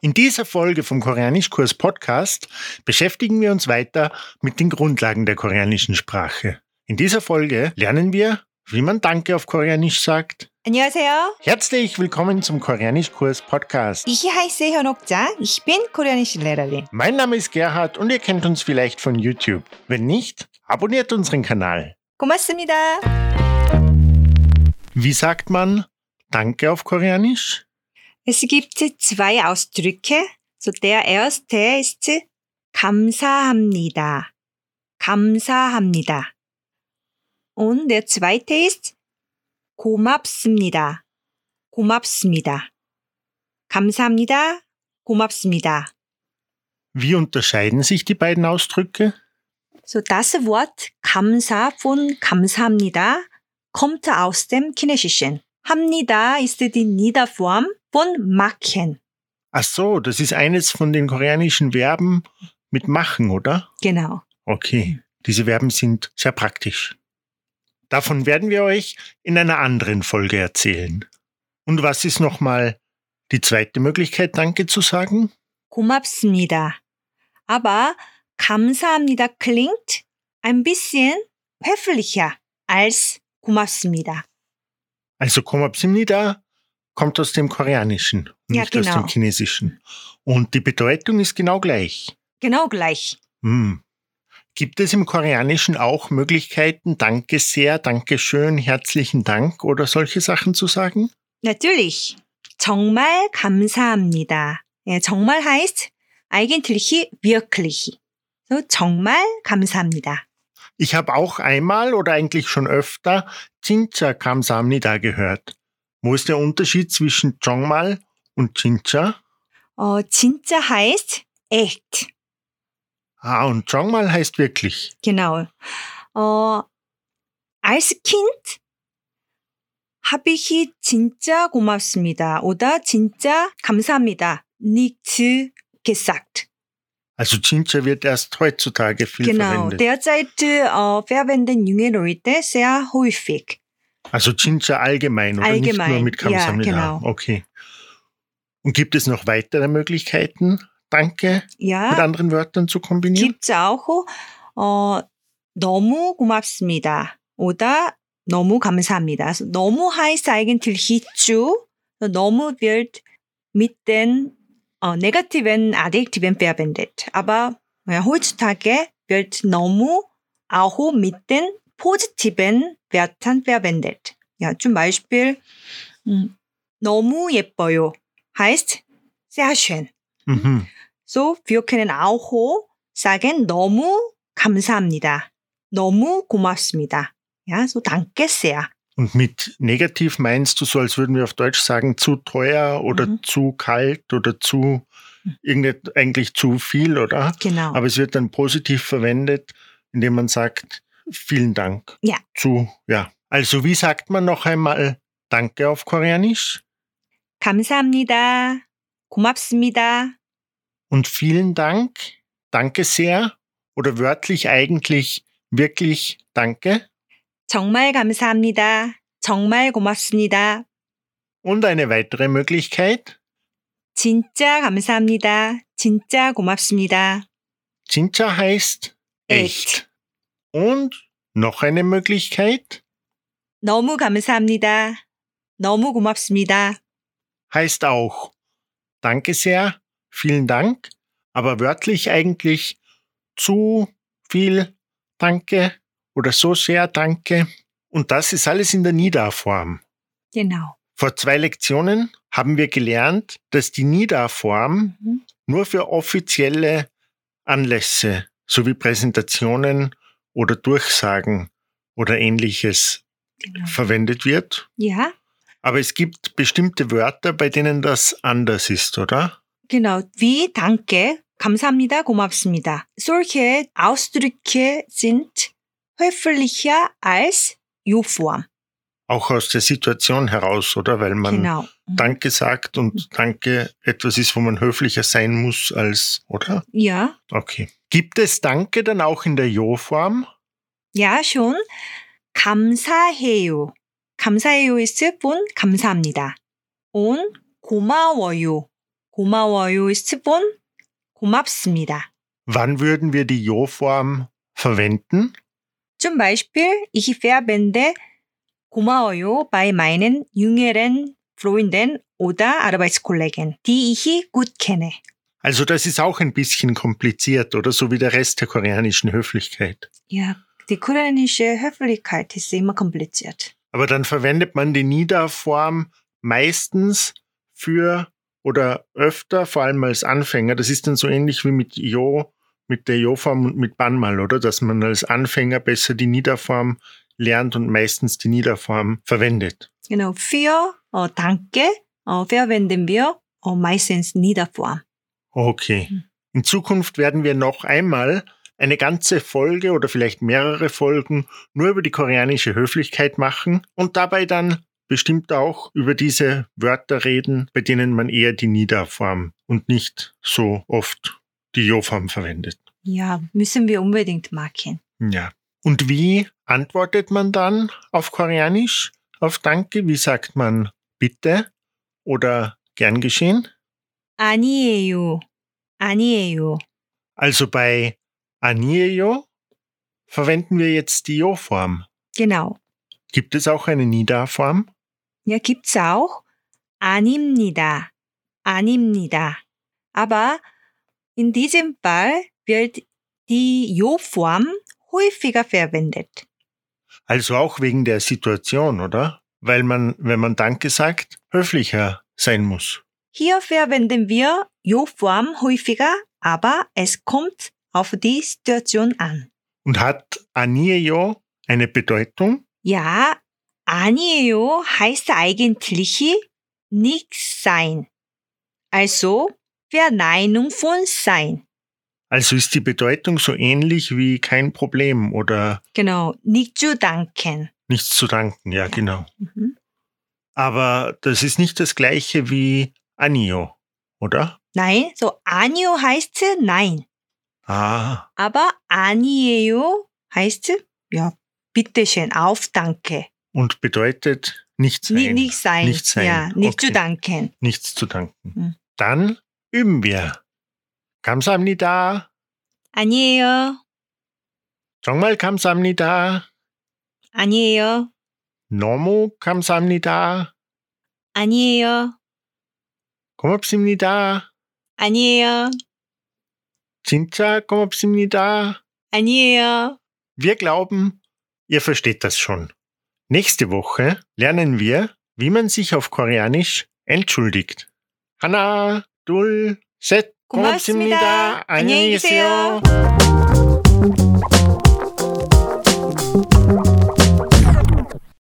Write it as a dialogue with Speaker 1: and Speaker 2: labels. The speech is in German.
Speaker 1: In dieser Folge vom Koreanischkurs Podcast beschäftigen wir uns weiter mit den Grundlagen der koreanischen Sprache. In dieser Folge lernen wir, wie man Danke auf Koreanisch sagt.
Speaker 2: 안녕하세요.
Speaker 1: Herzlich willkommen zum Koreanischkurs Podcast.
Speaker 2: Ich heiße 현옥자. Ich bin koreanische Lehrerin.
Speaker 1: Mein Name ist Gerhard und ihr kennt uns vielleicht von YouTube. Wenn nicht, abonniert unseren Kanal.
Speaker 2: 고맙습니다.
Speaker 1: Wie sagt man Danke auf Koreanisch?
Speaker 2: Es gibt zwei Ausdrücke. So der erste ist 감사합니다. 감사합니다. Und der zweite ist 고맙습니다. 고맙습니다. 감사합니다. 고맙습니다.
Speaker 1: Wie unterscheiden sich die beiden Ausdrücke?
Speaker 2: So das Wort 감사 von 감사합니다 kommt aus dem Chinesischen. 합니다 ist die Niederform von machen.
Speaker 1: Ach so, das ist eines von den koreanischen Verben mit machen, oder?
Speaker 2: Genau.
Speaker 1: Okay, diese Verben sind sehr praktisch. Davon werden wir euch in einer anderen Folge erzählen. Und was ist nochmal die zweite Möglichkeit, Danke zu sagen?
Speaker 2: 고맙습니다. Aber 감사합니다 klingt ein bisschen höflicher als 고맙습니다.
Speaker 1: Also 고맙습니다 kommt aus dem Koreanischen, nicht aus dem Chinesischen. Und die Bedeutung ist genau gleich.
Speaker 2: Genau gleich.
Speaker 1: Gibt es im Koreanischen auch Möglichkeiten, Danke sehr, Dankeschön, herzlichen Dank oder solche Sachen zu sagen?
Speaker 2: Natürlich. 정말 감사합니다. Ja, 정말 heißt eigentlich wirklich. So, 정말 감사합니다.
Speaker 1: Ich habe auch einmal oder eigentlich schon öfter 진짜 감사합니다 gehört. Wo ist der Unterschied zwischen 정말 und 진짜?
Speaker 2: 진짜 heißt echt.
Speaker 1: Und 정말 heißt wirklich.
Speaker 2: Genau. Als Kind habe ich 진짜 고맙습니다 oder 진짜 감사합니다 nicht gesagt.
Speaker 1: Also 진짜 wird erst heutzutage viel verwendet.
Speaker 2: Derzeit verwenden junge Leute sehr häufig.
Speaker 1: Also 진짜 allgemein oder nicht nur mit 감사합니다.
Speaker 2: Ja, genau.
Speaker 1: Okay. Und gibt es noch weitere Möglichkeiten, Danke mit anderen Wörtern zu kombinieren?
Speaker 2: Gibt es auch 너무 고맙습니다 oder 너무 감사합니다. Also, 너무 heißt eigentlich zu. 너무 wird mit den negativen Adjektiven verwendet. Aber heutzutage wird 너무 auch mit den positiven Wörtern verwendet. Ja, zum Beispiel 너무 예뻐요 heißt sehr schön. So, wir können auch sagen 너무 감사합니다. 너무 고맙습니다. Ja, so danke sehr.
Speaker 1: Und mit negativ meinst du so, als würden wir auf Deutsch sagen, zu teuer oder zu kalt oder zu, eigentlich zu viel, oder?
Speaker 2: Genau.
Speaker 1: Aber es wird dann positiv verwendet, indem man sagt, vielen Dank.
Speaker 2: Ja.
Speaker 1: Also wie sagt man noch einmal Danke auf Koreanisch?
Speaker 2: 감사합니다. 고맙습니다.
Speaker 1: Und vielen Dank, danke sehr oder wörtlich eigentlich wirklich Danke?
Speaker 2: 정말 감사합니다. 정말 고맙습니다.
Speaker 1: Und eine weitere Möglichkeit?
Speaker 2: 진짜 감사합니다. 진짜 고맙습니다.
Speaker 1: 진짜 heißt echt. Und noch eine Möglichkeit?
Speaker 2: 너무 감사합니다. 너무 고맙습니다.
Speaker 1: Heißt auch danke sehr, vielen Dank, aber wörtlich eigentlich zu viel Danke oder so sehr Danke. Und das ist alles in der Nida-Form.
Speaker 2: Genau.
Speaker 1: Vor 2 Lektionen haben wir gelernt, dass die Nida-Form nur für offizielle Anlässe sowie Präsentationen oder Durchsagen oder Ähnliches verwendet wird.
Speaker 2: Ja.
Speaker 1: Aber es gibt bestimmte Wörter, bei denen das anders ist, oder?
Speaker 2: Genau, wie danke, 감사합니다, 고맙습니다. Solche Ausdrücke sind höflicher als You-Form.
Speaker 1: Auch aus der Situation heraus, oder? Weil man Danke sagt und Danke etwas ist, wo man höflicher sein muss als, oder?
Speaker 2: Ja.
Speaker 1: Okay. Gibt es Danke dann auch in der Jo-Form?
Speaker 2: Ja, schon. 감사해요. 감사해요 ist von 감사합니다. Und 고마워요. 고마워요 ist von 고맙습니다.
Speaker 1: Wann würden wir die Jo-Form verwenden?
Speaker 2: Zum Beispiel, ich verwende 고마워요 bei meinen jüngeren Freunden oder Arbeitskollegen, die ich gut kenne.
Speaker 1: Also das ist auch ein bisschen kompliziert, oder? So wie der Rest der koreanischen Höflichkeit.
Speaker 2: Ja, die koreanische Höflichkeit ist immer kompliziert.
Speaker 1: Aber dann verwendet man die Nida-Form meistens für oder öfter, vor allem als Anfänger. Das ist dann so ähnlich wie mit der Jo-Form und mit Banmal, oder? Dass man als Anfänger besser die Nida-Form lernt und meistens die Nida-Form verwendet.
Speaker 2: Genau, für Danke verwenden wir meistens Nida-Form.
Speaker 1: Okay. In Zukunft werden wir noch einmal eine ganze Folge oder vielleicht mehrere Folgen nur über die koreanische Höflichkeit machen und dabei dann bestimmt auch über diese Wörter reden, bei denen man eher die Nida-Form und nicht so oft die Jo-Form verwendet.
Speaker 2: Ja, müssen wir unbedingt machen.
Speaker 1: Ja. Und wie antwortet man dann auf Koreanisch auf Danke? Wie sagt man bitte oder gern geschehen?
Speaker 2: 아니에요. 아니에요.
Speaker 1: Also bei 아니에요 verwenden wir jetzt die Jo-Form.
Speaker 2: Genau.
Speaker 1: Gibt es auch eine Nida-Form?
Speaker 2: Ja, gibt's auch. 아닙니다. 아닙니다. Aber in diesem Fall wird die Jo-Form häufiger verwendet.
Speaker 1: Also auch wegen der Situation, oder? Weil man, wenn man Danke sagt, höflicher sein muss.
Speaker 2: Hier verwenden wir Jo-Form häufiger, aber es kommt auf die Situation an.
Speaker 1: Und hat 아니에요 eine Bedeutung?
Speaker 2: Ja, 아니에요 heißt eigentlich nichts sein. Also Verneinung von sein.
Speaker 1: Also ist die Bedeutung so ähnlich wie kein Problem oder
Speaker 2: Genau, nicht zu danken.
Speaker 1: nichts zu danken. Ja, genau.
Speaker 2: Mhm.
Speaker 1: Aber das ist nicht das gleiche wie 아니요, oder?
Speaker 2: Nein, so 아니요 heißt nein.
Speaker 1: Ah,
Speaker 2: Aber 아니에요 heißt ja, bitteschön, auf Danke.
Speaker 1: und bedeutet nicht sein.
Speaker 2: Nicht sein.
Speaker 1: Nicht sein.
Speaker 2: Ja, nicht
Speaker 1: Okay.
Speaker 2: zu danken.
Speaker 1: Nichts zu danken.
Speaker 2: 음.
Speaker 1: Dann üben wir. 감사합니다.
Speaker 2: 아니에요.
Speaker 1: 정말 감사합니다.
Speaker 2: 아니에요.
Speaker 1: 너무 감사합니다.
Speaker 2: 아니에요.
Speaker 1: 고맙습니다.
Speaker 2: 아니에요.
Speaker 1: 진짜 고맙습니다.
Speaker 2: 아니에요.
Speaker 1: Wir glauben, ihr versteht das schon. Nächste Woche lernen wir, wie man sich auf Koreanisch entschuldigt. 하나, 둘, 셋.
Speaker 2: 고맙습니다.
Speaker 1: 안녕히
Speaker 2: 안녕히 계세요.
Speaker 1: 계세요.